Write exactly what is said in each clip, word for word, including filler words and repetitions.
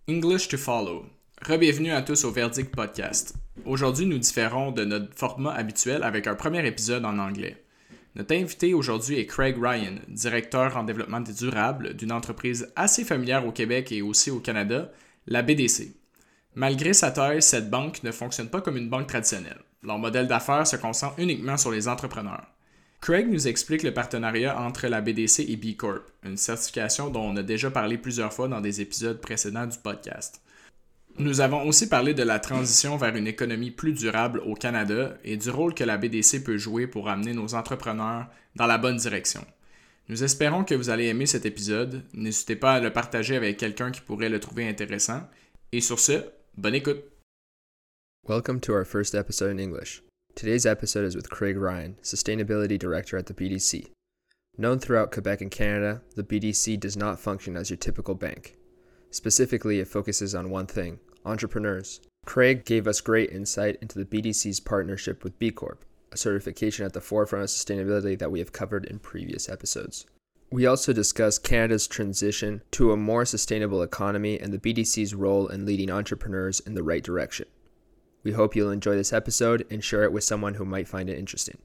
English to follow. Rebienvenue à tous au Verdict Podcast. Aujourd'hui, nous différons de notre format habituel avec un premier épisode en anglais. Notre invité aujourd'hui est Craig Ryan, directeur en développement durable d'une entreprise assez familière au Québec et aussi au Canada, la B D C. Malgré sa taille, cette banque ne fonctionne pas comme une banque traditionnelle. Leur modèle d'affaires se concentre uniquement sur les entrepreneurs. Craig nous explique le partenariat entre la B D C et B Corp, une certification dont on a déjà parlé plusieurs fois dans des épisodes précédents du podcast. Nous avons aussi parlé de la transition vers une économie plus durable au Canada et du rôle que la B D C peut jouer pour amener nos entrepreneurs dans la bonne direction. Nous espérons que vous allez aimer cet épisode. N'hésitez pas à le partager avec quelqu'un qui pourrait le trouver intéressant. Et sur ce, bonne écoute! Welcome to our first episode in English. Today's episode is with Craig Ryan, Sustainability Director at the B D C. Known throughout Quebec and Canada, the B D C does not function as your typical bank. Specifically, it focuses on one thing, entrepreneurs. Craig gave us great insight into the B D C's partnership with B Corp, a certification at the forefront of sustainability that we have covered in previous episodes. We also discussed Canada's transition to a more sustainable economy and the B D C's role in leading entrepreneurs in the right direction. We hope you'll enjoy this episode and share it with someone who might find it interesting.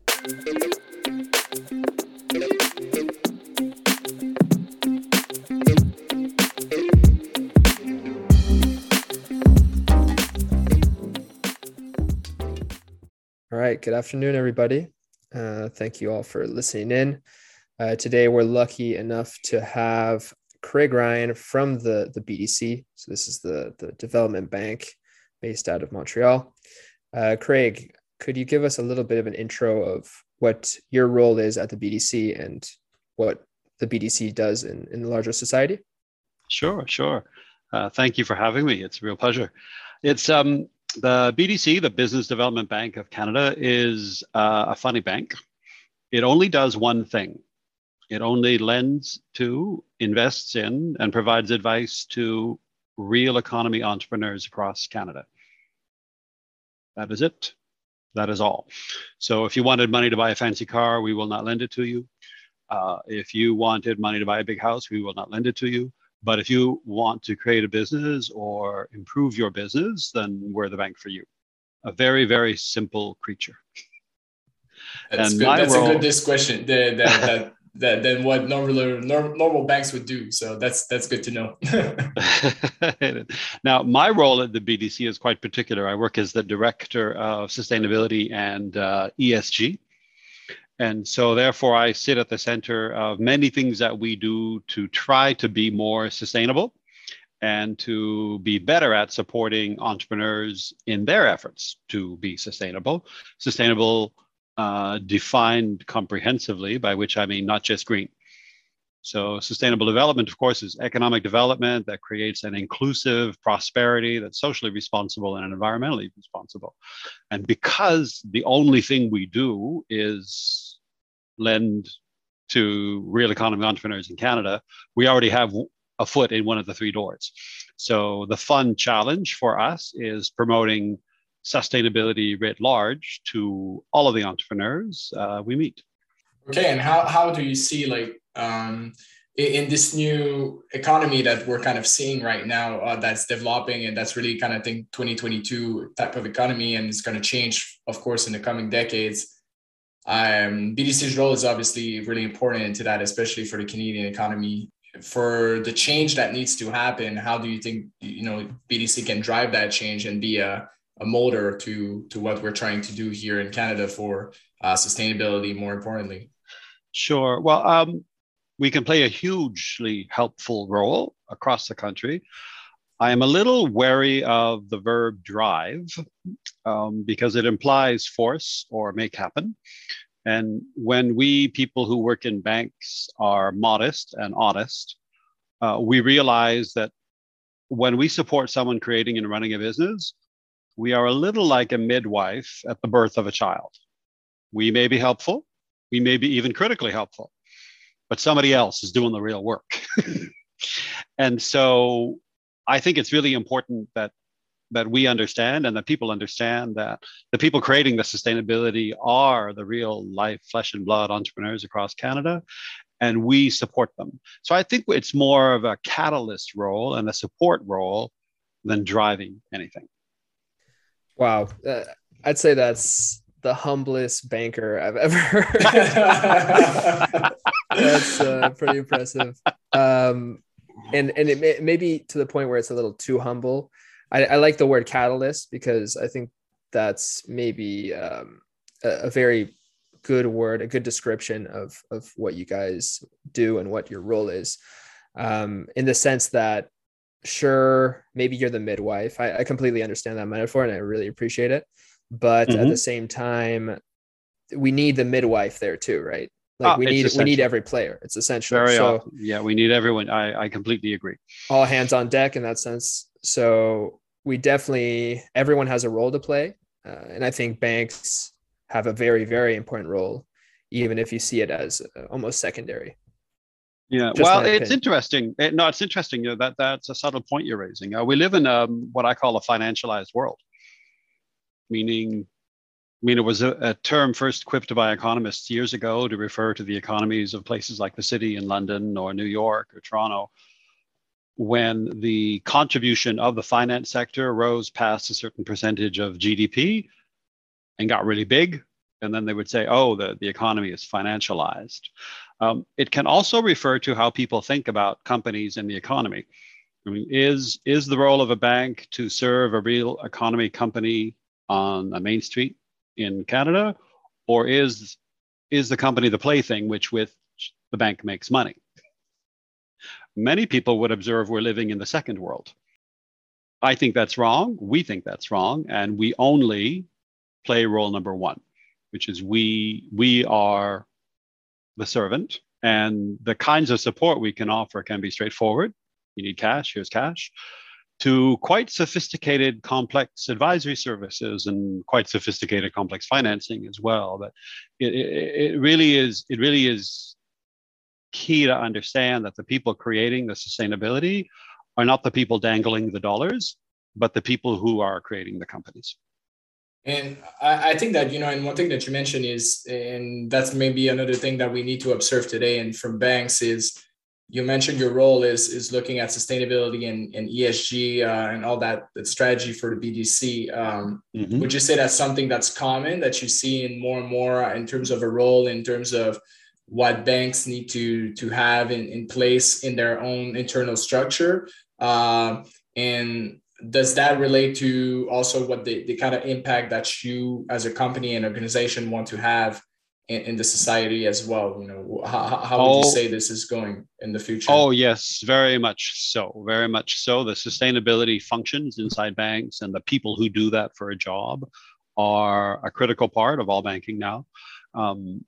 All right, good afternoon, everybody. Uh, thank you all for listening in. Uh, today, we're lucky enough to have Craig Ryan from the, the B D C. So this is the, the development bank based out of Montreal. Uh, Craig, could you give us a little bit of an intro of what your role is at the B D C and what the B D C does in, in the larger society? Sure, sure. Uh, thank you for having me. It's a real pleasure. It's um, the B D C, the Business Development Bank of Canada, is uh, a funny bank. It only does one thing. It only lends to, invests in, and provides advice to real economy entrepreneurs across Canada. That is it. That is all. So if you wanted money to buy a fancy car, we will not lend it to you. Uh, if you wanted money to buy a big house, we will not lend it to you. But if you want to create a business or improve your business, then we're the bank for you. A very, very simple creature. That's and good. That's role... a good discussion. The, that, that, that, than what normal, normal banks would do. So that's that's good to know. Now, my role at the B D C is quite particular. I work as the Director of Sustainability and uh, E S G. And so therefore, I sit at the center of many things that we do to try to be more sustainable and to be better at supporting entrepreneurs in their efforts to be sustainable. Sustainable uh, defined comprehensively, by which I mean not just green. So sustainable development, of course, is economic development that creates an inclusive prosperity that's socially responsible and environmentally responsible. And because the only thing we do is lend to real economy entrepreneurs in Canada, we already have a foot in one of the three doors. So the fun challenge for us is promoting sustainability writ large to all of the entrepreneurs uh, we meet. Okay, and how, how do you see like um, in, in this new economy that we're kind of seeing right now uh, that's developing and that's really kind of think twenty twenty-two type of economy and it's going to change, of course, in the coming decades. Um, B D C's role is obviously really important into that, especially for the Canadian economy. For the change that needs to happen, how do you think you know B D C can drive that change and be a, a molder to to what we're trying to do here in Canada for uh, sustainability, more importantly? Sure. Well, um, we can play a hugely helpful role across the country. I am a little wary of the verb drive um, because it implies force or make happen. And when we people who work in banks are modest and honest, uh, we realize that when we support someone creating and running a business, we are a little like a midwife at the birth of a child. We may be helpful. We may be even critically helpful, but somebody else is doing the real work. And so I think it's really important that that we understand and that people understand that the people creating the sustainability are the real life, flesh and blood entrepreneurs across Canada, and we support them. So I think it's more of a catalyst role and a support role than driving anything. Wow. Uh, I'd say that's the humblest banker I've ever heard. That's uh, pretty impressive. Um, and and it may, maybe to the point where it's a little too humble. I, I like the word catalyst because I think that's maybe um, a, a very good word, a good description of of what you guys do and what your role is. Um, in the sense that, sure, maybe you're the midwife. I, I completely understand that metaphor and I really appreciate it. But mm-hmm. at the same time, we need the midwife there too, right? Like oh, we need essential. we need every player. It's essential. Very so, often. Yeah, we need everyone. I, I completely agree. All hands on deck in that sense. So we definitely, everyone has a role to play. Uh, and I think banks have a very, very important role, even if you see it as uh, almost secondary. Yeah, Just well, it's interesting. It, no, it's interesting. You know, that that's a subtle point you're raising. Uh, we live in um, what I call a financialized world, meaning I mean, it was a, a term first quipped by economists years ago to refer to the economies of places like the city in London or New York or Toronto, when the contribution of the finance sector rose past a certain percentage of G D P and got really big. And then they would say, oh, the, the economy is financialized. Um, it can also refer to how people think about companies and the economy. I mean, is, is the role of a bank to serve a real economy company on a main street in Canada, or is is the company the plaything which with the bank makes money? Many people would observe we're living in the second world. I think that's wrong. We think that's wrong, and we only play role number one, which is we we are the servant, and the kinds of support we can offer can be straightforward. You need cash, here's cash, to quite sophisticated, complex advisory services and quite sophisticated, complex financing as well. But it, it, it really is, it really is key to understand that the people creating the sustainability are not the people dangling the dollars, but the people who are creating the companies. And I, I think that, you know, and one thing that you mentioned is, and that's maybe another thing that we need to observe today and from banks is, you mentioned your role is is looking at sustainability and, and E S G uh, and all that, that strategy for the B D C. Um, mm-hmm. Would you say that's something that's common that you see in more and more in terms of a role, in terms of what banks need to to have in, in place in their own internal structure? Uh, and does that relate to also what the, the kind of impact that you as a company and organization want to have In, in the society as well? You know, how, how would you say this is going in the future? Oh, yes, very much so. Very much so. The sustainability functions inside banks and the people who do that for a job are a critical part of all banking now. Um,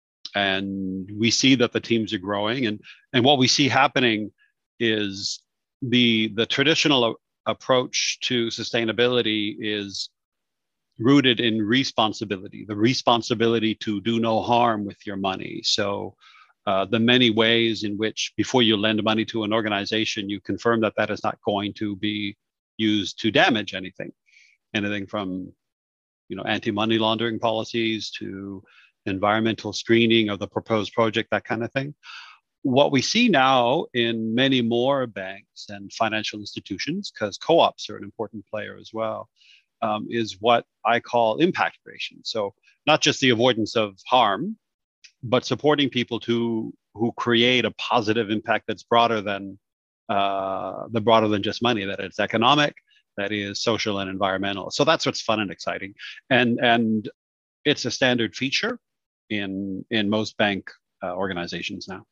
and we see that the teams are growing. And, and what we see happening is the, the traditional approach to sustainability is rooted in responsibility, the responsibility to do no harm with your money. So uh, the many ways in which before you lend money to an organization, you confirm that that is not going to be used to damage anything, anything from, you know, anti-money laundering policies to environmental screening of the proposed project, that kind of thing. What we see now in many more banks and financial institutions, because co-ops are an important player as well, Um, is what I call impact creation. So not just the avoidance of harm, but supporting people to who create a positive impact that's broader than uh, the broader than just money. That it's economic, that is social and environmental. So that's what's fun and exciting, and and it's a standard feature in in most bank uh, organizations now.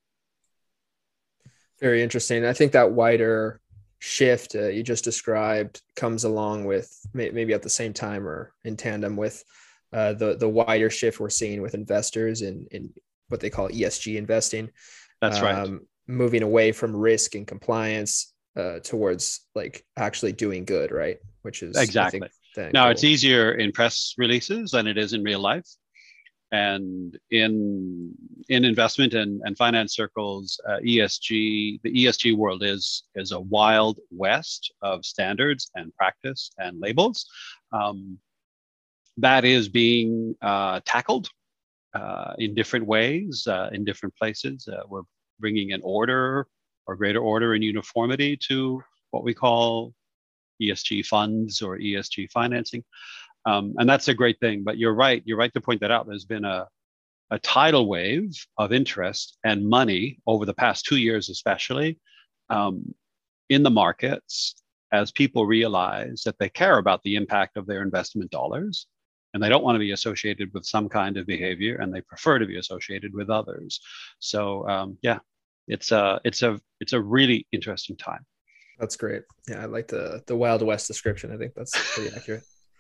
Very interesting. I think that wider shift uh, you just described comes along with may- maybe at the same time or in tandem with uh, the the wider shift we're seeing with investors in in what they call E S G investing. That's right. Um, moving away from risk and compliance uh, towards like actually doing good, right? Which is exactly. I think, now goal. It's easier in press releases than it is in real life. And in in investment and, and finance circles, uh, E S G, the E S G world is is a wild west of standards and practice and labels. Um, that is being uh, tackled uh, in different ways, uh, in different places. Uh, we're bringing an order or greater order and uniformity to what we call E S G funds or E S G financing. Um, and that's a great thing. But you're right. You're right to point that out. There's been a, a tidal wave of interest and money over the past two years, especially um, in the markets, as people realize that they care about the impact of their investment dollars, and they don't want to be associated with some kind of behavior, and they prefer to be associated with others. So um, yeah, it's a it's a it's a really interesting time. That's great. Yeah, I like the the Wild West description. I think that's pretty accurate.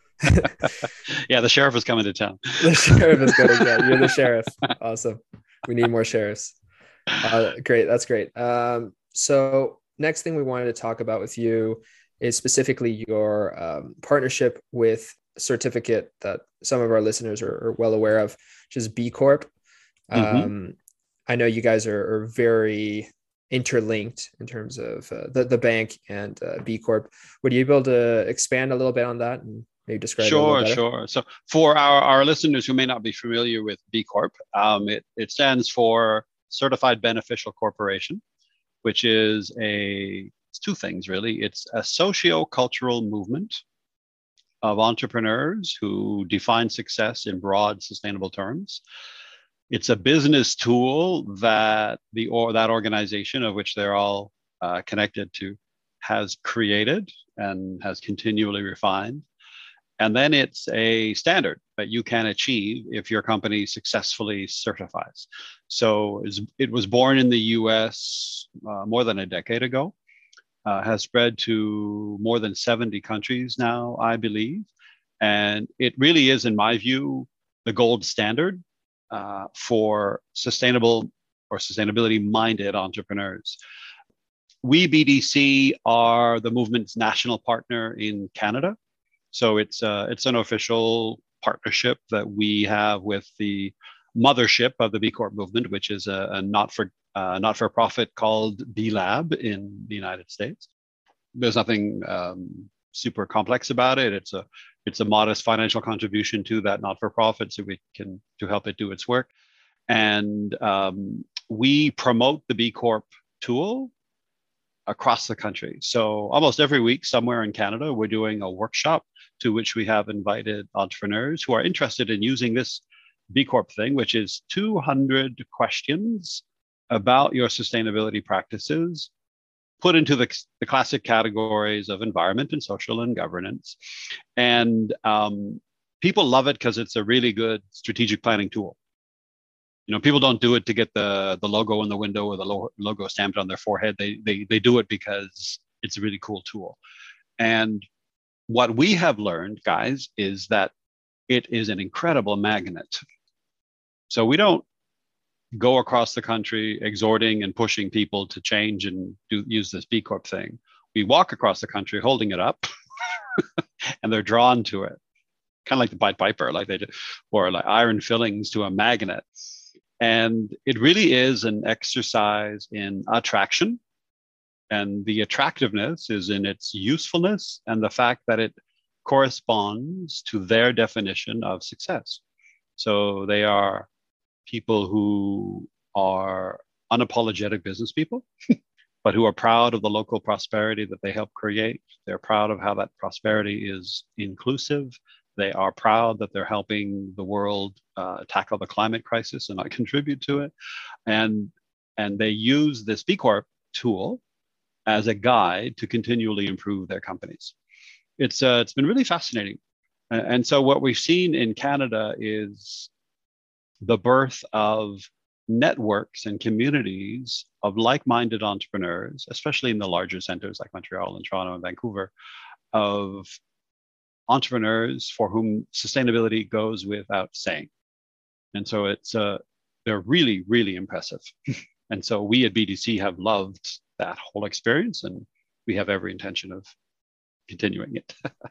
Yeah, the sheriff is coming to town. The sheriff is going. Yeah, you're the sheriff. Awesome. We need more sheriffs. Uh, great. That's great. Um, so next thing we wanted to talk about with you is specifically your um, partnership with a certificate that some of our listeners are, are well aware of, which is B Corp. Um, mm-hmm. I know you guys are, are very interlinked in terms of uh, the, the bank and uh, B Corp. Would you be able to expand a little bit on that and maybe describe sure, it a little sure. So for our, our listeners who may not be familiar with B Corp, um, it, it stands for Certified Beneficial Corporation, which is a it's two things really. It's a socio-cultural movement of entrepreneurs who define success in broad, sustainable terms. It's a business tool that the or that organization, of which they're all uh, connected to, has created and has continually refined. And then it's a standard that you can achieve if your company successfully certifies. So it was born in the U S uh, more than a decade ago, uh, has spread to more than seventy countries now, I believe. And it really is, in my view, the gold standard uh, for sustainable or sustainability-minded entrepreneurs. We, B D C, are the movement's national partner in Canada. So it's uh, it's an official partnership that we have with the mothership of the B Corp movement, which is a, a not for uh, not for profit called B Lab in the United States. There's nothing um, super complex about it. It's a it's a modest financial contribution to that not for profit, so we can to help it do its work. And um, we promote the B Corp tool across the country. So almost every week somewhere in Canada, we're doing a workshop to which we have invited entrepreneurs who are interested in using this B Corp thing, which is two hundred questions about your sustainability practices, put into the, the classic categories of environment and social and governance. And um, people love it because it's a really good strategic planning tool. You know, people don't do it to get the the logo in the window or the lo- logo stamped on their forehead. They, they they do it because it's a really cool tool. And what we have learned, guys, is that it is an incredible magnet. So we don't go across the country exhorting and pushing people to change and do use this B Corp thing. We walk across the country holding it up, and they're drawn to it, kind of like the Pied Piper, like they do, or like iron fillings to a magnet. And it really is an exercise in attraction. And the attractiveness is in its usefulness and the fact that it corresponds to their definition of success. So they are people who are unapologetic business people, but who are proud of the local prosperity that they help create. They're proud of how that prosperity is inclusive. They are proud that they're helping the world uh, tackle the climate crisis and not contribute to it. And, and they use this B Corp tool as a guide to continually improve their companies. It's, uh, it's been really fascinating. And so what we've seen in Canada is the birth of networks and communities of like-minded entrepreneurs, especially in the larger centers like Montreal and Toronto and Vancouver, of entrepreneurs for whom sustainability goes without saying. And so it's uh, they're really, really impressive. And so we at B D C have loved that whole experience, and we have every intention of continuing it.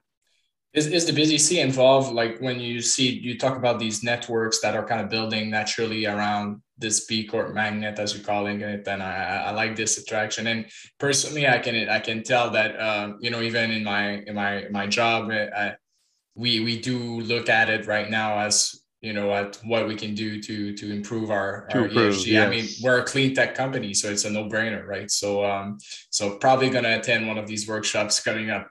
Is is the B D C involved, like when you see, you talk about these networks that are kind of building naturally around this B Corp magnet, as you're calling it, and I, I like this attraction. And personally, I can I can tell that, uh, you know, even in my in my my job, I, we we do look at it right now as, you know, at what we can do to to improve our, To our improve, E S G. I mean, yes. we're a clean tech company, so it's a no-brainer, right? So um, so probably gonna attend one of these workshops coming up.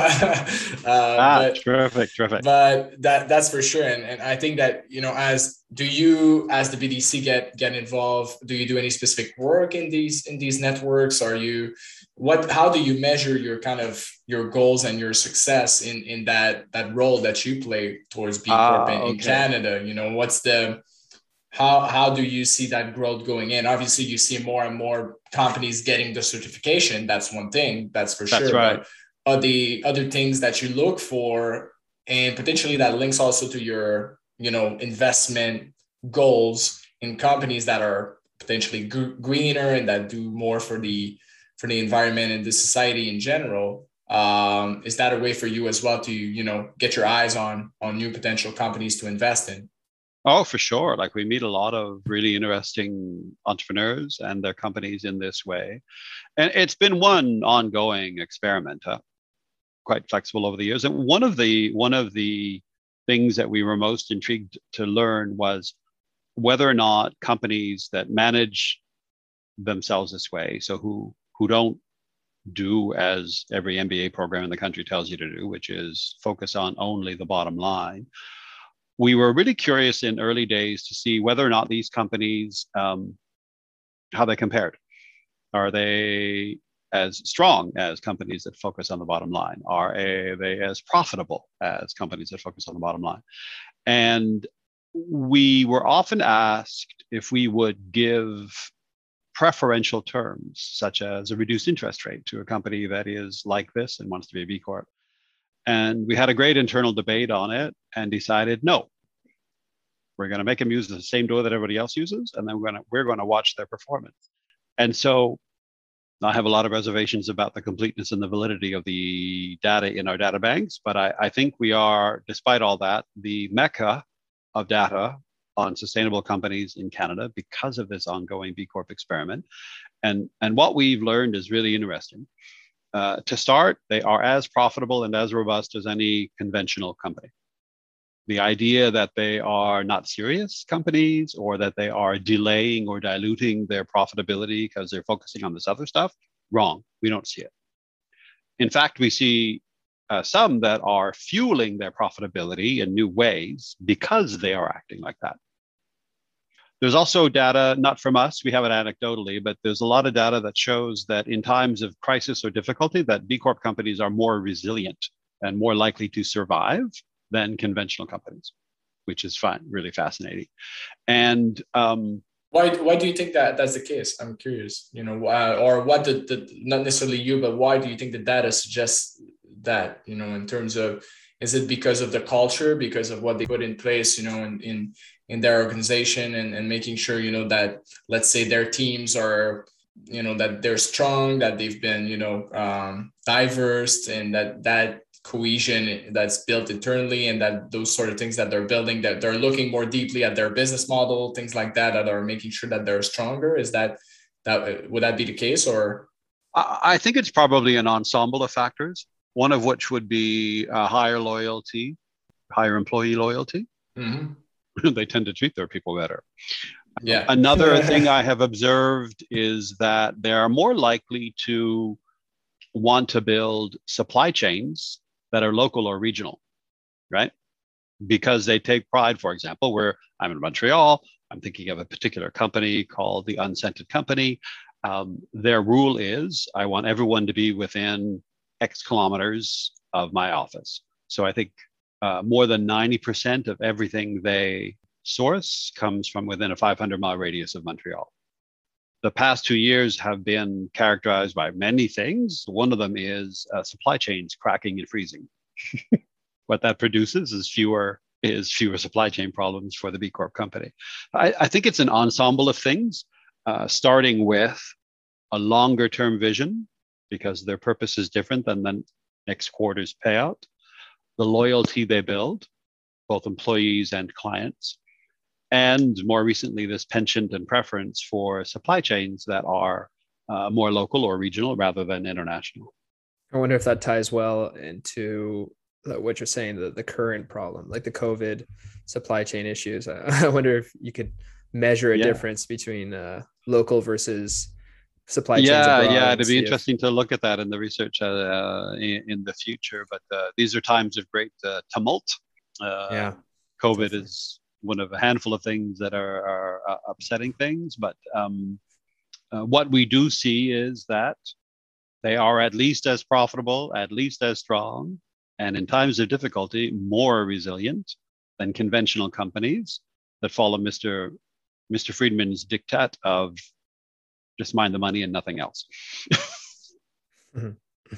uh, Ah, but terrific, terrific. but that that's for sure. And and I think that, you know, as do you as the B D C get get involved, do you do any specific work in these in these networks? Are you what how do you measure your kind of your goals and your success in in that that role that you play towards B Corp in, Ah, in okay. Canada? You know, what's the how how do you see that growth going in? Obviously, you see more and more companies getting the certification. That's one thing, that's for That's sure. right. But are the other things that you look for, and potentially that links also to your, you know, investment goals in companies that are potentially gr- greener and that do more for the for the environment and the society in general? Um, is that a way for you as well to, you know, get your eyes on on new potential companies to invest in? Oh, for sure. Like we meet a lot of really interesting entrepreneurs and their companies in this way. And it's been one ongoing experiment, huh? Quite flexible over the years. And one of the one of the things that we were most intrigued to learn was whether or not companies that manage themselves this way, so who who don't do as every M B A program in the country tells you to do, which is focus on only the bottom line. We were really curious in early days to see whether or not these companies, um, how they compared. Are they as strong as companies that focus on the bottom line? Are they as profitable as companies that focus on the bottom line? And we were often asked if we would give preferential terms, such as a reduced interest rate to a company that is like this and wants to be a B Corp. And we had a great internal debate on it and decided, no, we're going to make them use the same door that everybody else uses, and then we're going to we're going to watch their performance. And so I have a lot of reservations about the completeness and the validity of the data in our data banks, but I, I think we are, despite all that, the mecca of data on sustainable companies in Canada because of this ongoing B Corp experiment. And, and what we've learned is really interesting. Uh, to start, they are as profitable and as robust as any conventional company. The idea that they are not serious companies or that they are delaying or diluting their profitability because they're focusing on this other stuff, wrong. We don't see it. In fact, we see uh, some that are fueling their profitability in new ways because they are acting like that. There's also data, not from us, we have it anecdotally, but there's a lot of data that shows that in times of crisis or difficulty, that B Corp companies are more resilient and more likely to survive than conventional companies, which is fun, really fascinating. And um, why why do you think that that's the case? I'm curious, you know, uh, or what the, the not necessarily you, but why do you think the data suggests that, you know, in terms of, is it because of the culture, because of what they put in place, you know, in in, in their organization, and, and making sure, you know, that, let's say, their teams are, you know, that they're strong, that they've been, you know, um, diverse, and that that cohesion that's built internally, and that those sort of things that they're building, that they're looking more deeply at their business model, things like that, that are making sure that they're stronger? Is that, that would that be the case? Or I think it's probably an ensemble of factors, one of which would be uh, higher loyalty, higher employee loyalty. Mm-hmm. They tend to treat their people better. Yeah. Another thing I have observed is that they're more likely to want to build supply chains that are local or regional, right? Because they take pride, for example, where I'm in Montreal, I'm thinking of a particular company called the Unscented Company. Um, their rule is I want everyone to be within X kilometers of my office. So I think uh, more than ninety percent of everything they source comes from within a five hundred mile radius of Montreal. The past two years have been characterized by many things. One of them is uh, supply chains cracking and freezing. What that produces is fewer is fewer supply chain problems for the B Corp company. I, I think it's an ensemble of things, uh, starting with a longer term vision, because their purpose is different than the next quarter's payout, the loyalty they build, both employees and clients, and more recently, this penchant and preference for supply chains that are uh, more local or regional rather than international. I wonder if that ties well into what you're saying, the, the current problem, like the COVID supply chain issues. I, I wonder if you could measure a Yeah. difference between uh, local versus supply chains Yeah, abroad yeah, and it'd be see if, interesting to look at that in the research uh, in, in the future. But uh, these are times of great uh, tumult. Uh, yeah, COVID definitely. is one of a handful of things that are, are uh, upsetting things. But um, uh, what we do see is that they are at least as profitable, at least as strong, and in times of difficulty, more resilient than conventional companies that follow Mister Mister Friedman's diktat of just mind the money and nothing else. Mhm.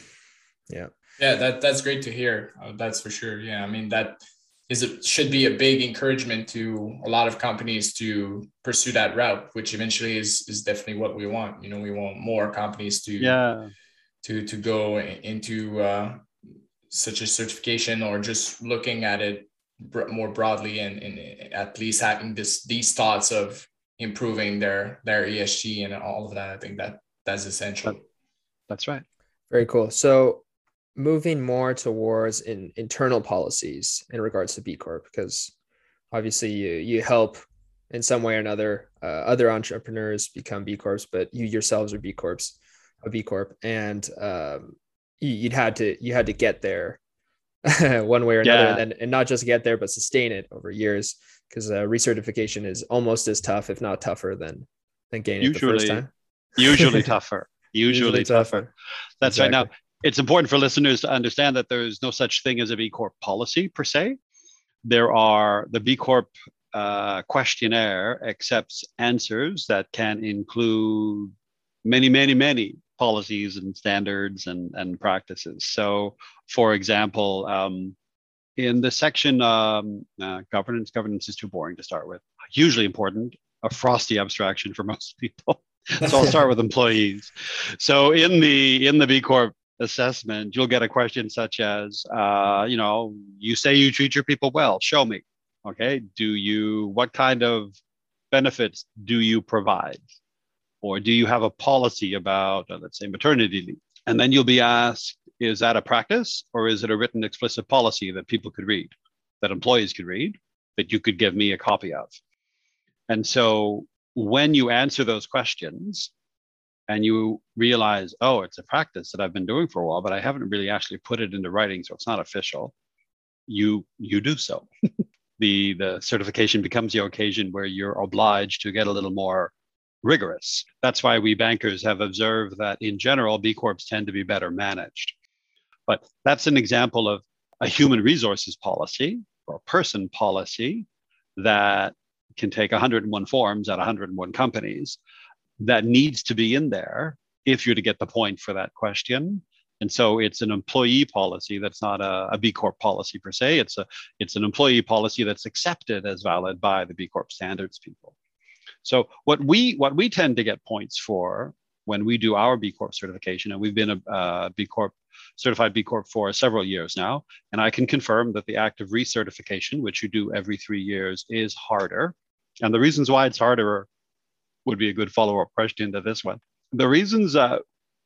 Yeah. Yeah, that that's great to hear. Uh, that's for sure. Yeah, I mean that is it should be a big encouragement to a lot of companies to pursue that route, which eventually is is definitely what we want. You know, we want more companies to Yeah, to to go into uh, such a certification, or just looking at it more broadly, and, and at least having this these thoughts of improving their their E S G and all of that. I think that that's essential. that, that's right. Very cool. So moving more towards in, internal policies in regards to B Corp, because obviously you you help in some way or another uh, other entrepreneurs become B Corps, but you yourselves are B Corps, a B Corp, and um, you, you'd had to you had to get there one way or another, Yeah, and then and not just get there, but sustain it over years, because uh, recertification is almost as tough, if not tougher, than than getting it the first usually, time. usually tougher. Usually, Usually tougher. tougher. That's right. Now, Exactly. it's important for listeners to understand that there is no such thing as a B Corp policy per se. There are the B Corp uh, questionnaire accepts answers that can include many, many, many policies and standards and, and practices. So, for example, um, in the section um, uh, governance, governance is too boring to start with. Hugely important, a frosty abstraction for most people. So I'll start with employees. So in the in the B Corp assessment, you'll get a question such as, uh, you know, you say you treat your people well. Show me. Okay. Do you? What kind of benefits do you provide? Or do you have a policy about, uh, let's say, maternity leave? And then you'll be asked, is that a practice, or is it a written explicit policy that people could read, that employees could read, that you could give me a copy of? And so when you answer those questions and you realize, oh, it's a practice that I've been doing for a while, but I haven't really actually put it into writing, so it's not official, you you do so. the the certification becomes the occasion where you're obliged to get a little more rigorous. That's why we bankers have observed that in general, B Corps tend to be better managed. But that's an example of a human resources policy or a person policy that can take one hundred one forms at one hundred one companies that needs to be in there if you're to get the point for that question. And so it's an employee policy that's not a, a B Corp policy per se. It's a it's an employee policy that's accepted as valid by the B Corp standards people. So what we what we tend to get points for when we do our B Corp certification, and we've been a uh, B Corp certified B Corp for several years now, and I can confirm that the act of recertification, which you do every three years, is harder. And the reasons why it's harder would be a good follow-up question to this one. The reasons that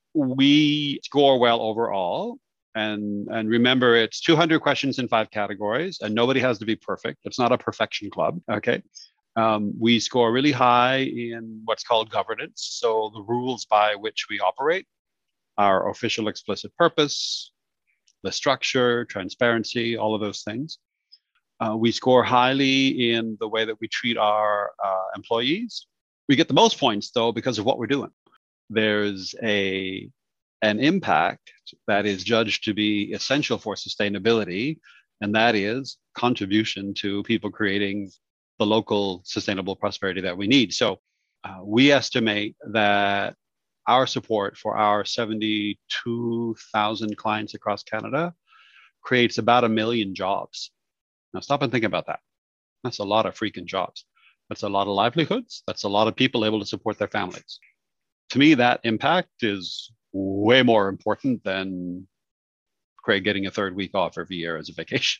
we score well overall, and and remember, it's two hundred questions in five categories, and nobody has to be perfect. It's not a perfection club, okay? Um, we score really high in what's called governance, so the rules by which we operate, our official explicit purpose, the structure, transparency, all of those things. Uh, we score highly in the way that we treat our uh, employees. We get the most points, though, because of what we're doing. There's a an impact that is judged to be essential for sustainability, and that is contribution to people creating the local sustainable prosperity that we need. So uh, we estimate that our support for our seventy-two thousand clients across Canada creates about a million jobs. Now stop and think about that. That's a lot of freaking jobs. That's a lot of livelihoods. That's a lot of people able to support their families. To me, that impact is way more important than Craig getting a third week off every year as a vacation.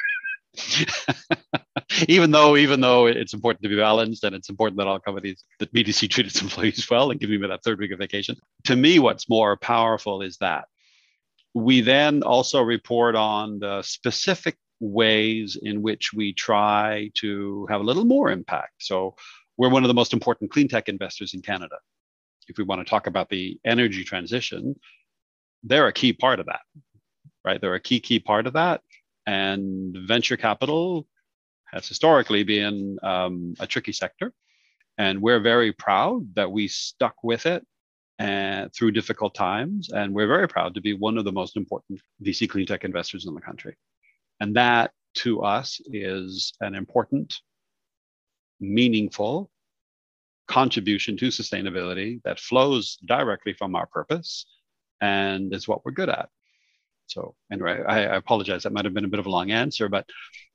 even though, even though it's important to be balanced, and it's important that all companies, that B D C treat its employees well and give me that third week of vacation. To me, what's more powerful is that We then also report on the specific ways in which we try to have a little more impact. So we're one of the most important clean tech investors in Canada. If we want to talk about the energy transition, they're a key part of that, right? They're a key, key part of that. And venture capital has historically been um, a tricky sector. And we're very proud that we stuck with it and through difficult times. And we're very proud to be one of the most important V C clean tech investors in the country. And that to us is an important, meaningful contribution to sustainability that flows directly from our purpose and is what we're good at. So anyway, I, I apologize. That might have been a bit of a long answer, but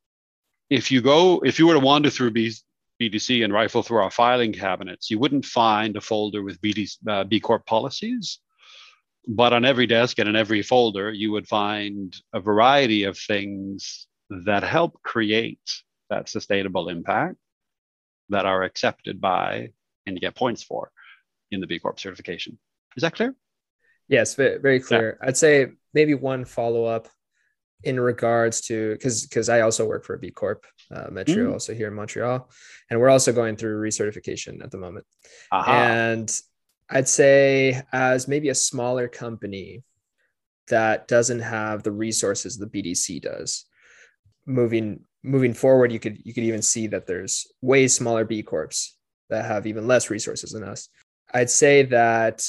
if you go, if you were to wander through B, BDC and rifle through our filing cabinets, you wouldn't find a folder with B D, uh, B Corp policies. But on every desk and in every folder, you would find a variety of things that help create that sustainable impact that are accepted by and you get points for in the B Corp certification. Is that clear? Yes, very clear. Yeah. I'd say maybe one follow-up in regards to, because because I also work for a B Corp, uh, Metrio, mm. also here in Montreal, and we're also going through recertification at the moment. Aha. And I'd say as maybe a smaller company that doesn't have the resources the B D C does, moving moving forward, you could you could even see that there's way smaller B Corps that have even less resources than us. I'd say that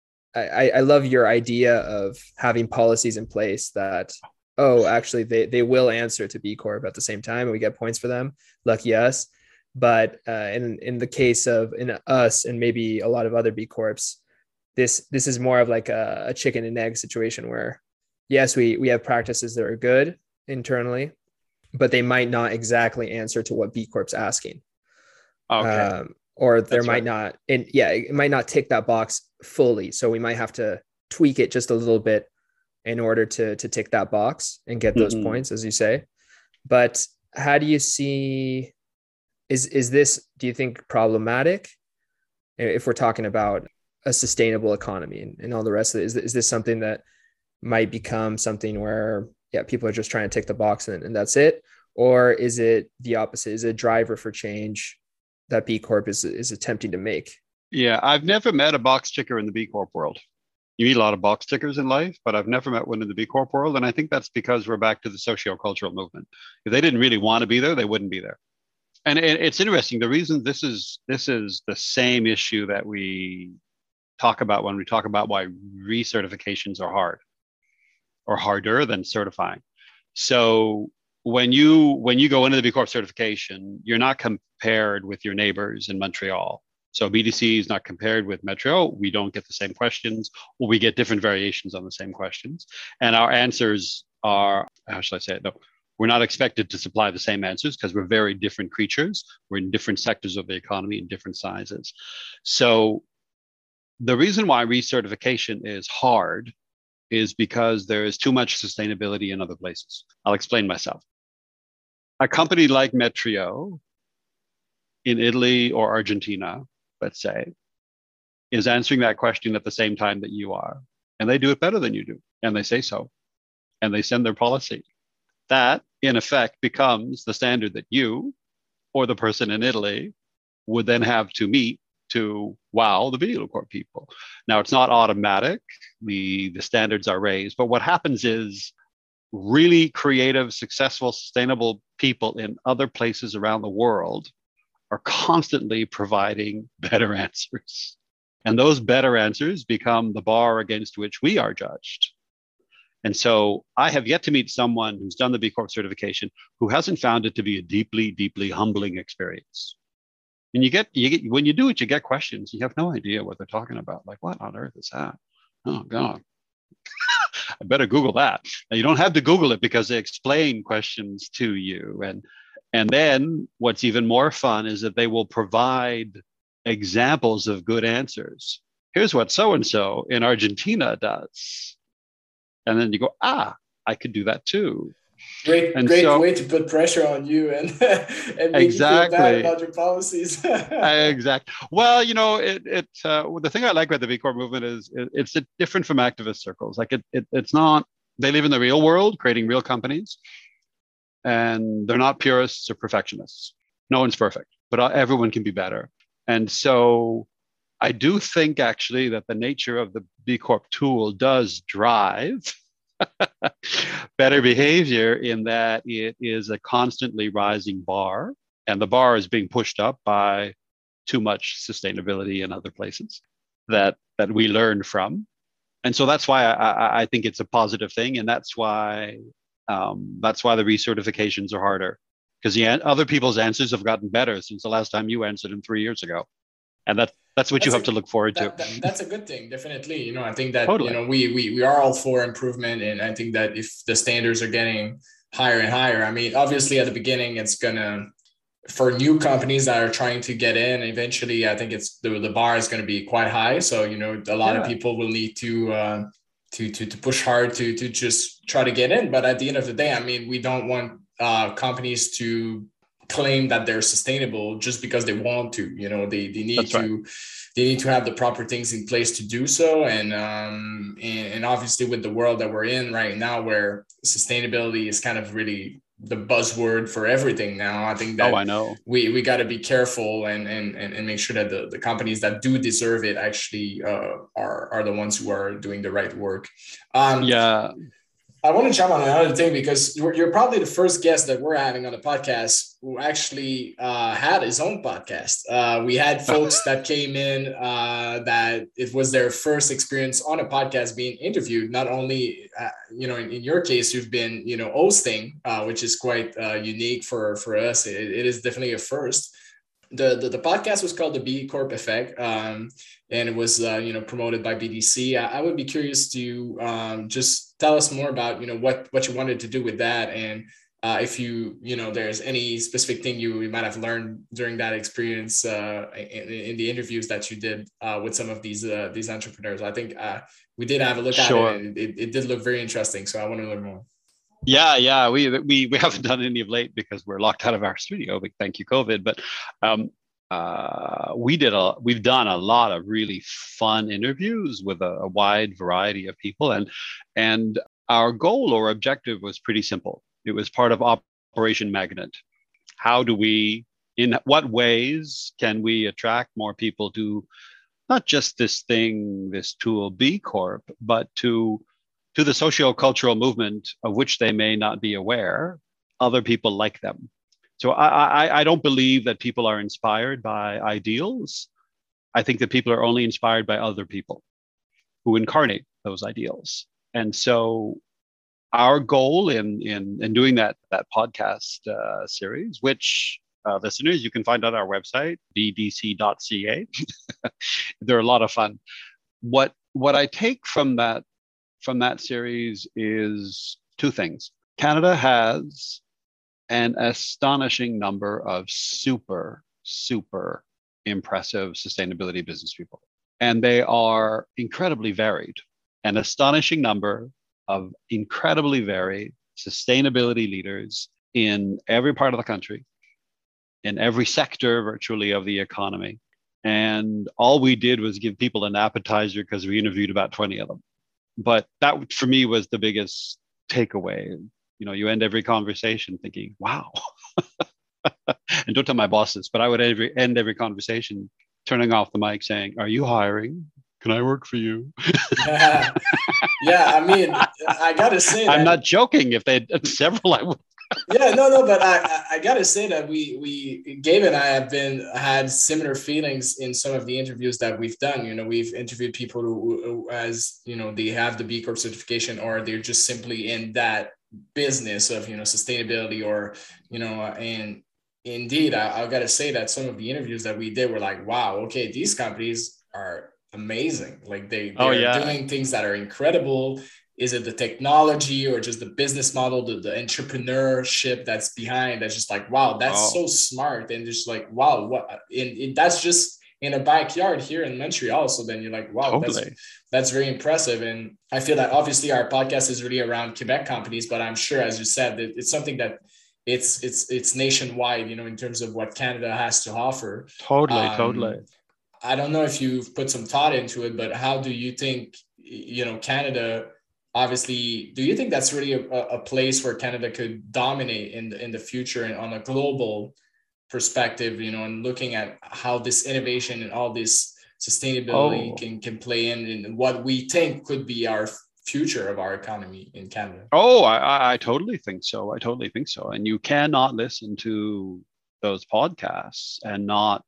I, I love your idea of having policies in place that, oh, actually, they, they will answer to B Corp at the same time, and we get points for them. Lucky us. But uh, in in the case of in us and maybe a lot of other B Corps, this this is more of like a, a chicken and egg situation where, yes, we we have practices that are good internally, but they might not exactly answer to what B Corp's asking. Okay. Um, or there That's might right. not, and yeah, it might not tick that box fully. So we might have to tweak it just a little bit in order to to tick that box and get those mm-hmm. points, as you say. But how do you see? Is is this, do you think, problematic if we're talking about a sustainable economy and, and all the rest of it? Is, is this something that might become something where, yeah, people are just trying to tick the box and, and that's it? Or is it the opposite? Is it a driver for change that B Corp is, is attempting to make? Yeah, I've never met a box ticker in the B Corp world. You meet a lot of box tickers in life, but I've never met one in the B Corp world. And I think that's because we're back to the socio-cultural movement. If they didn't really want to be there, they wouldn't be there. And it's interesting. The reason this is this is the same issue that we talk about when we talk about why recertifications are hard or harder than certifying. So when you when you go into the B Corp certification, you're not compared with your neighbors in Montreal. So B D C is not compared with Metro. We don't get the same questions, or we get different variations on the same questions. And our answers are, how should I say it? No. We're not expected to supply the same answers because we're very different creatures. We're in different sectors of the economy in different sizes. So the reason why recertification is hard is because there is too much sustainability in other places. I'll explain myself. A company like Metrio in Italy or Argentina, let's say, is answering that question at the same time that you are. And they do it better than you do. And they say so. And they send their policy. That, in effect, becomes the standard that you or the person in Italy would then have to meet to wow the B Corp people. Now, it's not automatic. The, the standards are raised. But what happens is really creative, successful, sustainable people in other places around the world are constantly providing better answers. And those better answers become the bar against which we are judged. And so I have yet to meet someone who's done the B Corp certification who hasn't found it to be a deeply, deeply humbling experience. And you get, you get, when you do it, you get questions. You have no idea what they're talking about. Like, what on earth is that? Oh, God. I better Google that. Now, you don't have to Google it because they explain questions to you. And, and then what's even more fun is that they will provide examples of good answers. Here's what so-and-so in Argentina does. And then you go, ah, I could do that too. Great, and great so, way to put pressure on you and, and make exactly. you feel bad about your policies. Exactly. Well, you know, it, it uh, the thing I like about the B Corp movement is it, it's different from activist circles. Like it, it, it's not they live in the real world, creating real companies, and they're not purists or perfectionists. No one's perfect, but everyone can be better. And so I do think actually that the nature of the B Corp tool does drive better behavior, in that it is a constantly rising bar, and the bar is being pushed up by too much sustainability in other places that that we learn from. And so that's why I, I think it's a positive thing, and that's why um, that's why the recertifications are harder, because the other people's answers have gotten better since the last time you answered them three years ago, and that that's what that's you have a, to look forward that, to. That, that's a good thing, definitely. You know, I think that totally. you know we we we are all for improvement, and I think that if the standards are getting higher and higher, I mean, obviously at the beginning it's gonna, for new companies that are trying to get in, eventually I think it's the, the bar is going to be quite high. So, you know, a lot yeah. of people will need to, uh, to, to, to push hard to, to just try to get in. But at the end of the day, I mean, we don't want uh, companies to claim that they're sustainable just because they want to, you know, they, they need That's to, right. they need to have the proper things in place to do so. And, um, and, and obviously with the world that we're in right now, where sustainability is kind of really the buzzword for everything now, I think that oh, I know. we, we got to be careful and, and, and make sure that the, the companies that do deserve it actually uh, are, are the ones who are doing the right work. Um, yeah. I want to jump on another thing, because you're, you're probably the first guest that we're having on the podcast who actually uh, had his own podcast. Uh, we had folks that came in uh, that it was their first experience on a podcast being interviewed. Not only, uh, you know, in, in your case, you've been, you know, hosting, uh, which is quite uh, unique for, for us. It, it is definitely a first. The, the, the podcast was called the B Corp Effect, um, and it was, uh, you know, promoted by B D C. I, I would be curious to um, just tell us more about, you know, what, what you wanted to do with that. And uh, if you, you know, there's any specific thing you, you might have learned during that experience uh, in, in the interviews that you did uh, with some of these, uh, these entrepreneurs. I think uh, we did have a look sure. at it, and it, it did look very interesting. So I want to learn more. Yeah, yeah, we we we haven't done any of late because we're locked out of our studio. But thank you, COVID. But um, uh, we did a we've done a lot of really fun interviews with a, a wide variety of people, and and our goal or objective was pretty simple. It was part of Operation Magnet. How do we, in what ways can we attract more people to not just this thing, this tool B Corp, but to to the socio-cultural movement of which they may not be aware, other people like them. So I, I, I don't believe that people are inspired by ideals. I think that people are only inspired by other people who incarnate those ideals. And so our goal in, in, in doing that, that podcast uh, series, which uh, listeners, you can find on our website, b d c dot c a. They're a lot of fun. What, what I take from that from that series is two things. Canada has an astonishing number of super, super impressive sustainability business people. And they are incredibly varied. An astonishing number of incredibly varied sustainability leaders in every part of the country, in every sector virtually of the economy. And all we did was give people an appetizer because we interviewed about twenty of them. But that, for me, was the biggest takeaway. You know, you end every conversation thinking, wow. And don't tell my bosses, but I would every, end every conversation turning off the mic saying, are you hiring? Can I work for you? yeah. yeah, I mean, I got to say that. I'm not joking. If they had several, I would. yeah, no, no, but I, I got to say that we, we, Gabe and I have been, had similar feelings in some of the interviews that we've done. You know, we've interviewed people who, who as, you know, they have the B Corp certification, or they're just simply in that business of, you know, sustainability, or, you know, and indeed, I, I got to say that some of the interviews that we did were like, wow, okay, these companies are amazing. Like they, they're oh, yeah. doing things that are incredible. Is it the technology or just the business model, the, the entrepreneurship that's behind? That's just like, wow, that's oh. so smart. And just like, wow, what? And, and that's just in a backyard here in Montreal. So then you're like, wow, totally. that's, that's very impressive. And I feel that obviously our podcast is really around Quebec companies, but I'm sure, as you said, that it's something that it's, it's, it's nationwide, you know, in terms of what Canada has to offer. Totally, um, totally. I don't know if you've put some thought into it, but how do you think, you know, Canada obviously, do you think that's really a, a place where Canada could dominate in the, in the future and on a global perspective, you know, and looking at how this innovation and all this sustainability Oh, can, can play in, in what we think could be our future of our economy in Canada? oh, I, I I totally think so. I totally think so. And you cannot listen to those podcasts and not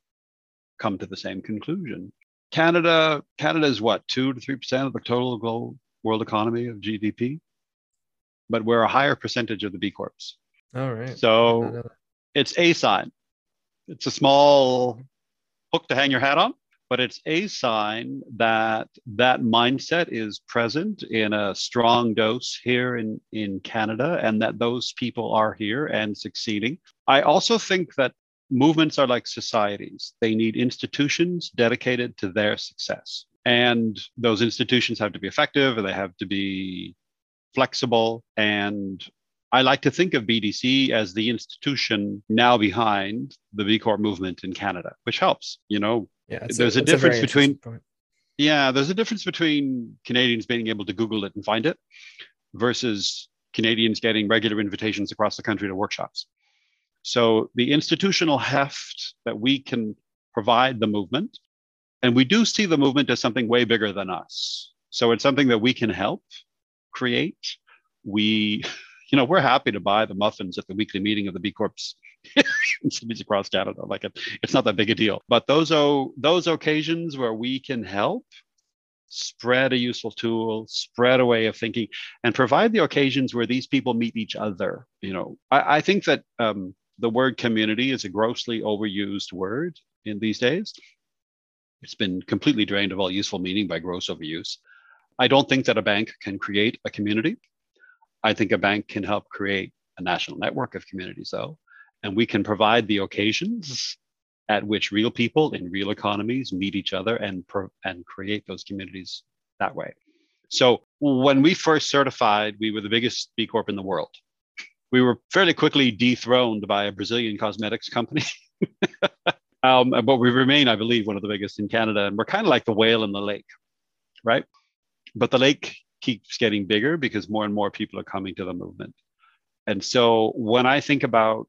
come to the same conclusion. Canada, Canada is what, two to three percent of the total global world economy of G D P, but we're a higher percentage of the B Corps. All right. So it's a sign. It's a small hook to hang your hat on, but it's a sign that that mindset is present in a strong dose here in, in Canada, and that those people are here and succeeding. I also think that movements are like societies. They need institutions dedicated to their success. And those institutions have to be effective, and they have to be flexible. And I like to think of B D C as the institution now behind the B Corp movement in Canada, which helps. You know, Yeah, there's a, a difference a between point. yeah, there's a difference between Canadians being able to Google it and find it versus Canadians getting regular invitations across the country to workshops. So the institutional heft that we can provide the movement, and we do see the movement as something way bigger than us. So it's something that we can help create. We, you know, we're happy to buy the muffins at the weekly meeting of the B Corps in cities across Canada. Like it, it's not that big a deal. But those oh, those occasions where we can help spread a useful tool, spread a way of thinking, and provide the occasions where these people meet each other. You know, I, I think that um, the word community is a grossly overused word in these days. It's been completely drained of all useful meaning by gross overuse. I don't think that a bank can create a community. I think a bank can help create a national network of communities, though, and we can provide the occasions at which real people in real economies meet each other and, pro- and create those communities that way. So when we first certified, we were the biggest B Corp in the world. We were fairly quickly dethroned by a Brazilian cosmetics company. um, but we remain, I believe, one of the biggest in Canada. And we're kind of like the whale in the lake, right? But the lake keeps getting bigger because more and more people are coming to the movement. And so when I think about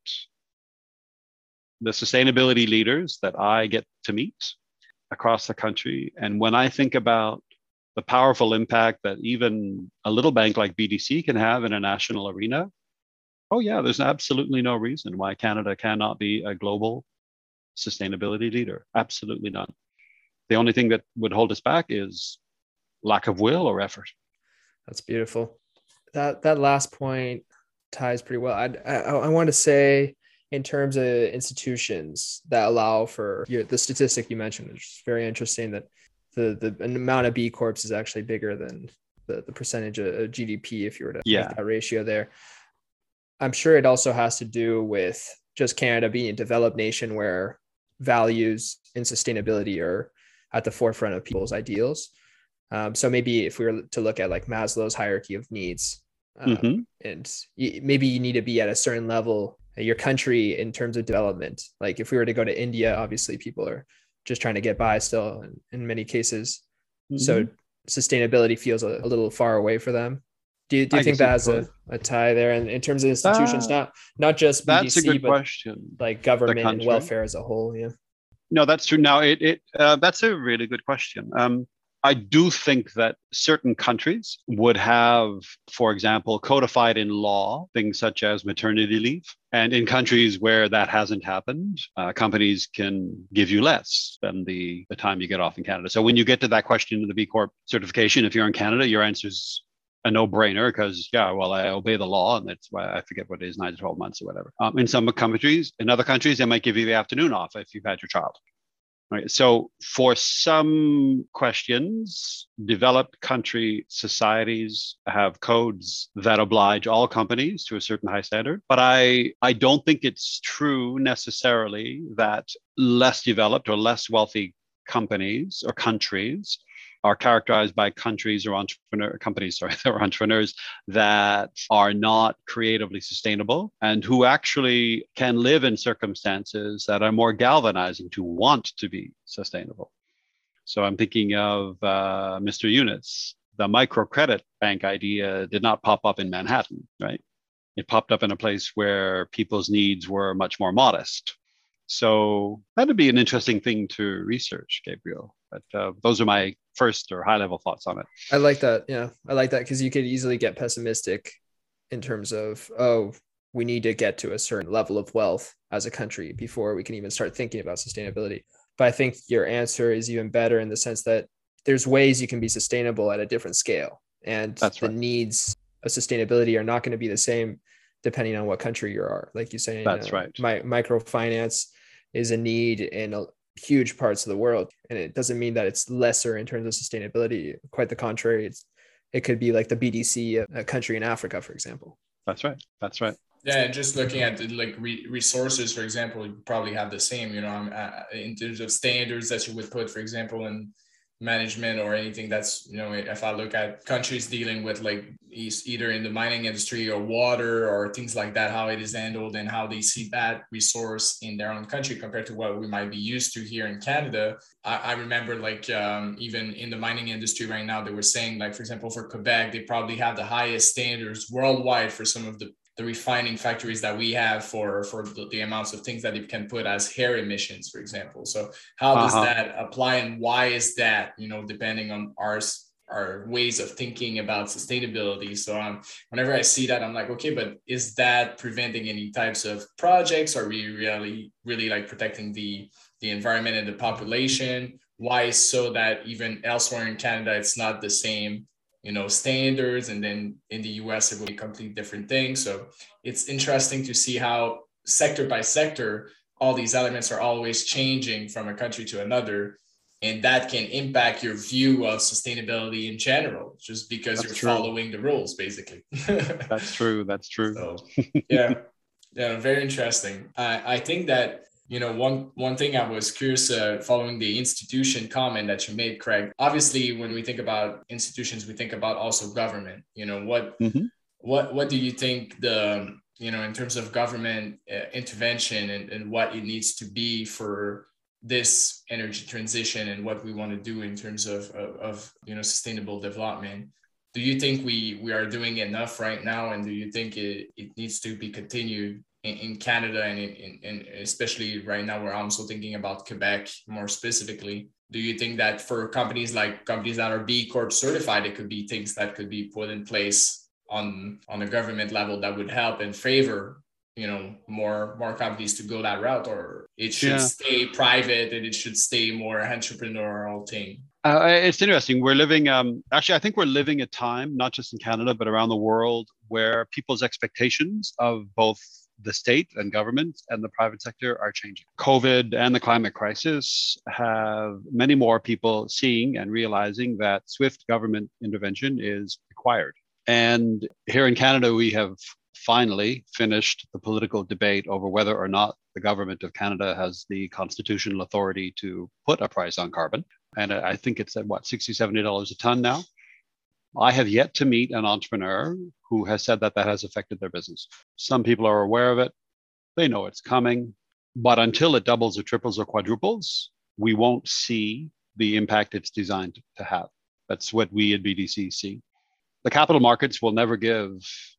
the sustainability leaders that I get to meet across the country, and when I think about the powerful impact that even a little bank like B D C can have in a national arena, oh yeah, there's absolutely no reason why Canada cannot be a global sustainability leader. Absolutely none. The only thing that would hold us back is lack of will or effort. That's beautiful. That that last point ties pretty well. I I, I want to say, in terms of institutions that allow for your, the statistic you mentioned, which is very interesting, that the the amount of B Corps is actually bigger than the, the percentage of G D P if you were to Yeah. make that ratio there. I'm sure it also has to do with just Canada being a developed nation where values and sustainability are at the forefront of people's ideals. Um, so maybe if we were to look at like Maslow's hierarchy of needs, um, Mhm. and y- maybe you need to be at a certain level, your country in terms of development. Like if we were to go to India, obviously people are just trying to get by still in, in many cases. Mhm. So sustainability feels a, a little far away for them. Do you, do you I think guess it that has a, could. a tie there? And in terms of institutions, Uh, not not just That's a B D C, good but question. like The government and country. welfare as a whole. Yeah. No, that's true. Now, it, it uh, that's a really good question. Um, I do think that certain countries would have, for example, codified in law things such as maternity leave. And in countries where that hasn't happened, uh, companies can give you less than the, the time you get off in Canada. So when you get to that question of the B Corp certification, if you're in Canada, your answer is a no-brainer because, yeah, well, I obey the law, and that's why I forget what it is, nine to twelve months or whatever. Um, in some countries, in other countries, they might give you the afternoon off if you've had your child. Right. So for some questions, developed country societies have codes that oblige all companies to a certain high standard. But I, I don't think it's true necessarily that less developed or less wealthy companies or countries are characterized by countries or entrepreneur companies, sorry, or entrepreneurs that are not creatively sustainable and who actually can live in circumstances that are more galvanizing to want to be sustainable. So I'm thinking of uh, Mister Yunus, the microcredit bank idea did not pop up in Manhattan, right? It popped up in a place where people's needs were much more modest. So that'd be an interesting thing to research, Gabriel. But uh, those are my first or high level thoughts on it. I like that. Yeah, I like that because you could easily get pessimistic in terms of, oh, we need to get to a certain level of wealth as a country before we can even start thinking about sustainability. But I think your answer is even better in the sense that there's ways you can be sustainable at a different scale. And That's the right. needs of sustainability are not going to be the same depending on what country you are. Like you say, That's uh, right. My, microfinance is a need in a, huge parts of the world. And it doesn't mean that it's lesser in terms of sustainability. Quite the contrary. It's, it could be like the B D C, a country in Africa, for example. That's right. That's right. Yeah, and just looking at the, like re- resources, for example, you probably have the same, you know, um, uh, in terms of standards that you would put, for example, in management or anything that's, you know, if I look at countries dealing with like either in the mining industry or water or things like that, how it is handled and how they see that resource in their own country compared to what we might be used to here in Canada. I, I remember like um, even in the mining industry right now, they were saying like, for example, for Quebec, they probably have the highest standards worldwide for some of the the refining factories that we have for, for the, the amounts of things that it can put as hair emissions, for example. So how does Uh-huh. that apply and why is that, you know, depending on our, our ways of thinking about sustainability. So um, whenever I see that, I'm like, okay, but is that preventing any types of projects? Are we really, really like protecting the, the environment and the population? Why so that even elsewhere in Canada, it's not the same, you know, standards, and then in the U S it will be a completely different thing. So it's interesting to see how sector by sector all these elements are always changing from a country to another, and that can impact your view of sustainability in general just because That's you're true. following the rules basically. That's true. That's true. So yeah, yeah, very interesting. I, I think that, you know, one one thing I was curious uh, following the institution comment that you made, Craig. Obviously, when we think about institutions, we think about also government. You know, what Mm-hmm. what what do you think the, you know, in terms of government uh, intervention and, and what it needs to be for this energy transition and what we want to do in terms of, of, of you know, sustainable development? Do you think we we are doing enough right now, and do you think it, it needs to be continued in, in Canada and in, in, especially right now we're also thinking about Quebec more specifically? Do you think that for companies like companies that are B Corp certified, it could be things that could be put in place on on a government level that would help and favor, you know, more more companies to go that route, or it should Yeah. stay private and it should stay more entrepreneurial thing? Uh, it's interesting. We're living, um, actually, I think we're living a time, not just in Canada, but around the world, where people's expectations of both the state and government and the private sector are changing. COVID and the climate crisis have many more people seeing and realizing that swift government intervention is required. And here in Canada, we have finally finished the political debate over whether or not the government of Canada has the constitutional authority to put a price on carbon. And I think it's at what, sixty dollars, seventy dollars a ton now. I have yet to meet an entrepreneur who has said that that has affected their business. Some people are aware of it. They know it's coming. But until it doubles or triples or quadruples, we won't see the impact it's designed to have. That's what we at B D C see. The capital markets will never give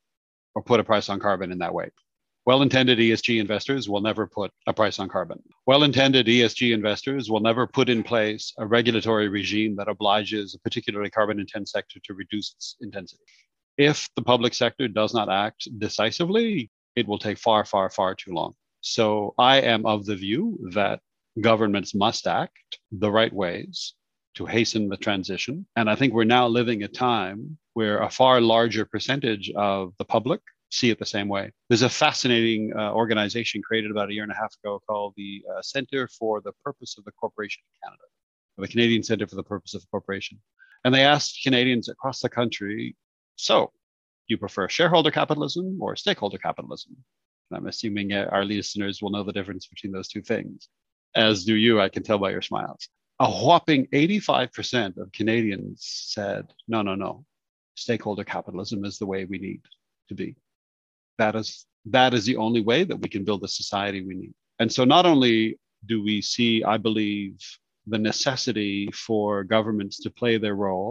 or put a price on carbon in that way. Well-intended E S G investors will never put a price on carbon. Well-intended E S G investors will never put in place a regulatory regime that obliges a particularly carbon-intense sector to reduce its intensity. If the public sector does not act decisively, it will take far, far, far too long. So I am of the view that governments must act the right ways to hasten the transition. And I think we're now living a time where a far larger percentage of the public see it the same way. There's a fascinating uh, organization created about a year and a half ago called the uh, Center for the Purpose of the Corporation in Canada, or the Canadian Center for the Purpose of the Corporation. And they asked Canadians across the country, so do you prefer shareholder capitalism or stakeholder capitalism? And I'm assuming uh, our listeners will know the difference between those two things. As do you, I can tell by your smiles. A whopping eighty-five percent of Canadians said, no, no, no, stakeholder capitalism is the way we need to be. That is, that is the only way that we can build the society we need. And so not only do we see, I believe, the necessity for governments to play their role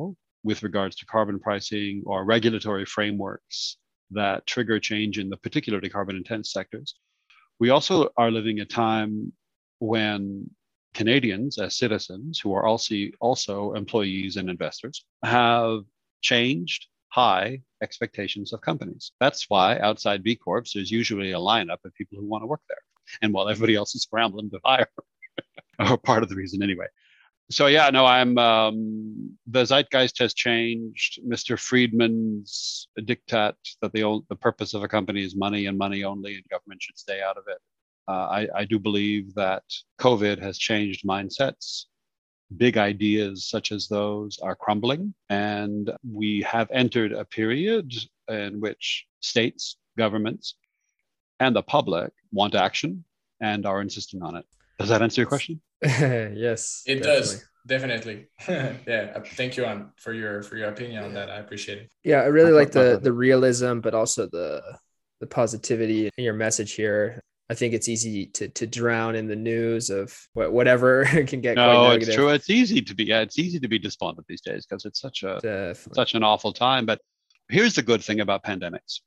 with regards to carbon pricing or regulatory frameworks that trigger change in the particularly carbon intense sectors. We also are living a time when Canadians as citizens, who are also, also employees and investors, have changed high expectations of companies. That's why outside B Corps, there's usually a lineup of people who want to work there. And while everybody else is scrambling to hire, or part of the reason anyway. So yeah, no, I'm, um, the zeitgeist has changed. Mister Friedman's diktat that the, the purpose of a company is money and money only, and government should stay out of it. Uh, I, I do believe that COVID has changed mindsets. Big ideas such as those are crumbling, and we have entered a period in which states, governments, and the public want action and are insisting on it. Does that answer your question? Yes, it definitely. does. Definitely. Yeah. Thank you on for your for your opinion on that. I appreciate it. Yeah, I really like the the realism, but also the the positivity in your message here. I think it's easy to to drown in the news of whatever can get no, quite negative. It's true. It's easy to be yeah, it's easy to be despondent these days because it's such a Definitely. such an awful time. But here's the good thing about pandemics.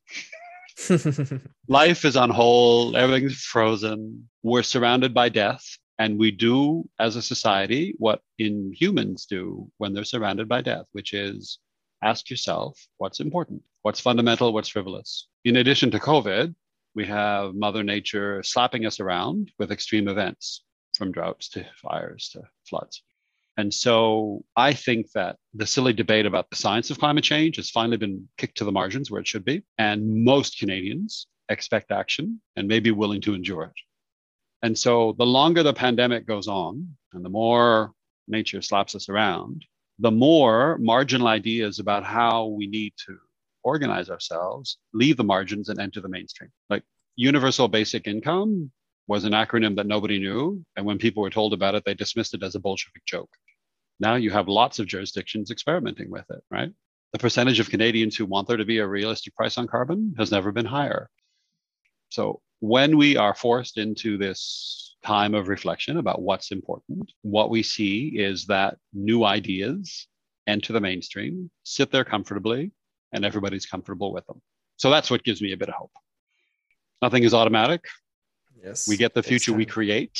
Life is on hold, everything's frozen. We're surrounded by death. And we do, as a society, what inhumans do when they're surrounded by death, which is ask yourself what's important, what's fundamental, what's frivolous. In addition to COVID, we have Mother Nature slapping us around with extreme events, from droughts to fires to floods. And so I think that the silly debate about the science of climate change has finally been kicked to the margins where it should be. And most Canadians expect action and may be willing to endure it. And so the longer the pandemic goes on and the more nature slaps us around, the more marginal ideas about how we need to organize ourselves leave the margins and enter the mainstream. Like universal basic income was an acronym that nobody knew. And when people were told about it, they dismissed it as a Bolshevik joke. Now you have lots of jurisdictions experimenting with it, right? The percentage of Canadians who want there to be a realistic price on carbon has never been higher. So when we are forced into this time of reflection about what's important, what we see is that new ideas enter the mainstream, sit there comfortably, and everybody's comfortable with them. So that's what gives me a bit of hope. Nothing is automatic. Yes. We get the future we create,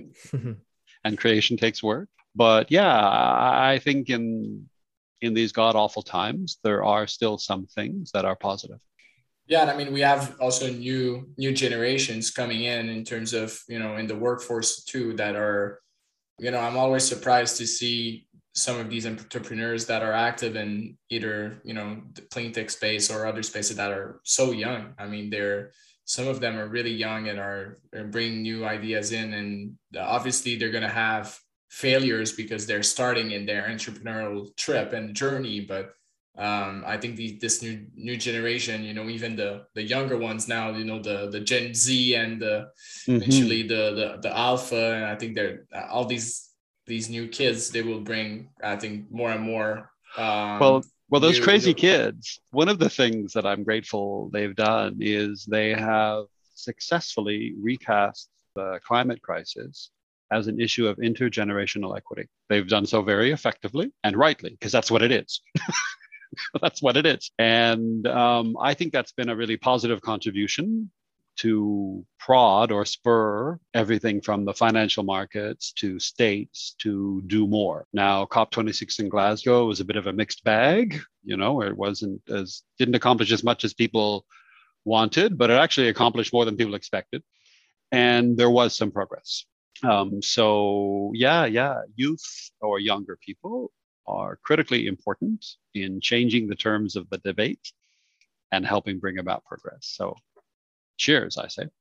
and creation takes work. But yeah, I think in in these god-awful times, there are still some things that are positive. Yeah, and I mean, we have also new new generations coming in in terms of, you know, in the workforce too, that are, you know, I'm always surprised to see some of these entrepreneurs that are active in either, you know, the clean tech space or other spaces that are so young. I mean, they're, some of them are really young and are, are bringing new ideas in, and obviously they're going to have failures because they're starting in their entrepreneurial trip and journey. But um, I think the, this new new generation, you know, even the the younger ones now, you know, the the Gen Z and the mm-hmm. eventually the, the the Alpha, and I think they're all these these new kids, they will bring, I think, more and more. Um, well, well, those new, crazy new... kids. One of the things that I'm grateful they've done is they have successfully recast the climate crisis as an issue of intergenerational equity. They've done so very effectively and rightly, because that's what it is. That's what it is. And um, I think that's been a really positive contribution to prod or spur everything from the financial markets to states to do more. Now, COP twenty-six in Glasgow was a bit of a mixed bag, you know, where it wasn't as, didn't accomplish as much as people wanted, but it actually accomplished more than people expected. And there was some progress. Um, so yeah, yeah, youth or younger people are critically important in changing the terms of the debate and helping bring about progress. So cheers, I say.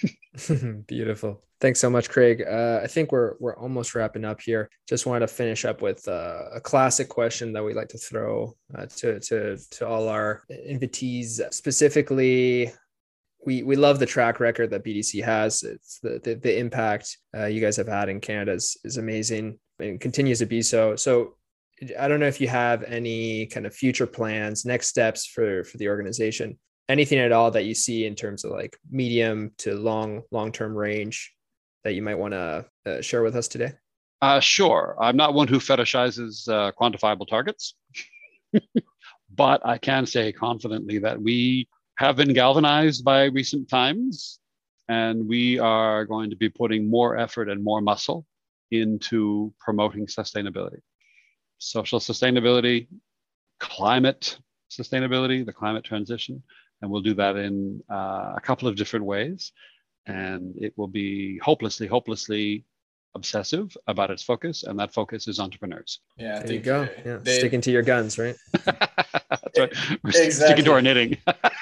Beautiful. Thanks so much, Craig. Uh, I think we're we're almost wrapping up here. Just wanted to finish up with uh, a classic question that we like to throw uh, to to to all our invitees. Specifically, we we love the track record that B D C has. It's the the, the impact uh, you guys have had in Canada is, is amazing and continues to be so. So I don't know if you have any kind of future plans, next steps for for the organization. Anything at all that you see in terms of like medium to long, long-term range that you might want to uh, share with us today? Uh, sure. I'm not one who fetishizes uh, quantifiable targets. But I can say confidently that we have been galvanized by recent times, and we are going to be putting more effort and more muscle into promoting sustainability, social sustainability, climate sustainability, the climate transition. And we'll do that in uh, a couple of different ways. And it will be hopelessly, hopelessly obsessive about its focus. And that focus is entrepreneurs. Yeah, I There think you go. uh, Yeah, they- sticking to your guns, right? That's right. We're Exactly. sticking to our knitting.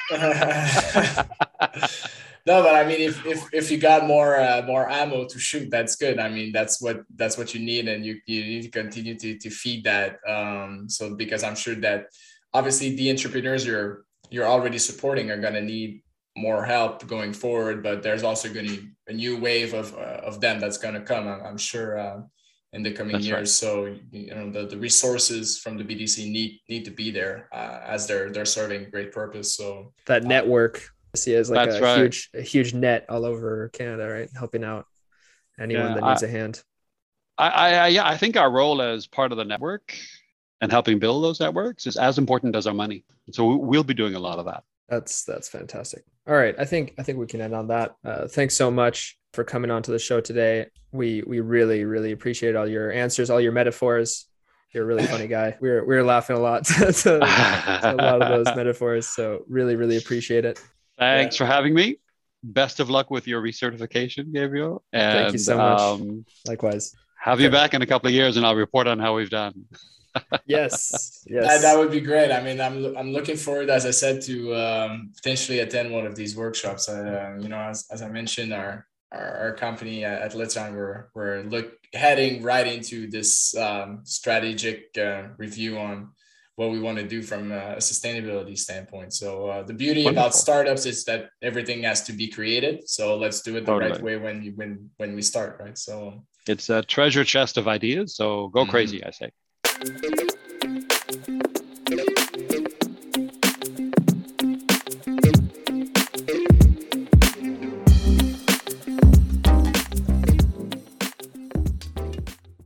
No, but I mean, if if if you got more uh, more ammo to shoot, that's good. I mean, that's what that's what you need, and you you need to continue to to feed that. Um, so because I'm sure that obviously the entrepreneurs you're you're already supporting are going to need more help going forward, but there's also going to be a new wave of uh, of them that's going to come. I'm, I'm sure uh, in the coming That's years. right. So you know the, the resources from the B D C need need to be there uh, as they're they're serving a great purpose. So That uh, network, I see as like That's a right. huge, a huge net all over Canada, right? Helping out anyone Yeah, that needs I- a hand. I, I, yeah, I think our role as part of the network and helping build those networks is as important as our money. So we'll be doing a lot of that. That's that's fantastic. All right, I think I think we can end on that. Uh, thanks so much for coming on to the show today. We we really really appreciate all your answers, all your metaphors. You're a really funny guy. We were we were laughing a lot to, to, to a lot of those metaphors. So really really appreciate it. Thanks Yeah. for having me. Best of luck with your recertification, Gabriel. And, Thank you so much. Um, Likewise. have you back in a couple of years, and I'll report on how we've done. Yes. That, Yes. that would be great. I mean, I'm I'm looking forward, as I said, to um, potentially attend one of these workshops. Uh, you know, as, as I mentioned, our our, our company at Litson, we're we're look heading right into this um, strategic uh, review on what we want to do from a sustainability standpoint. So uh, the beauty Wonderful. about startups is that everything has to be created. So let's do it the Totally. right way when you, when when we start, right? So It's a treasure chest of ideas. So go Mhm. crazy, I say.